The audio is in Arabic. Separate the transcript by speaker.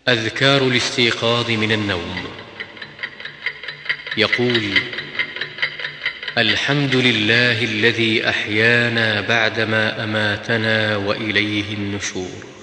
Speaker 1: أذكار الاستيقاظ من النوم. يقول: الحمد لله الذي أحيانا بعدما أماتنا وإليه النشور.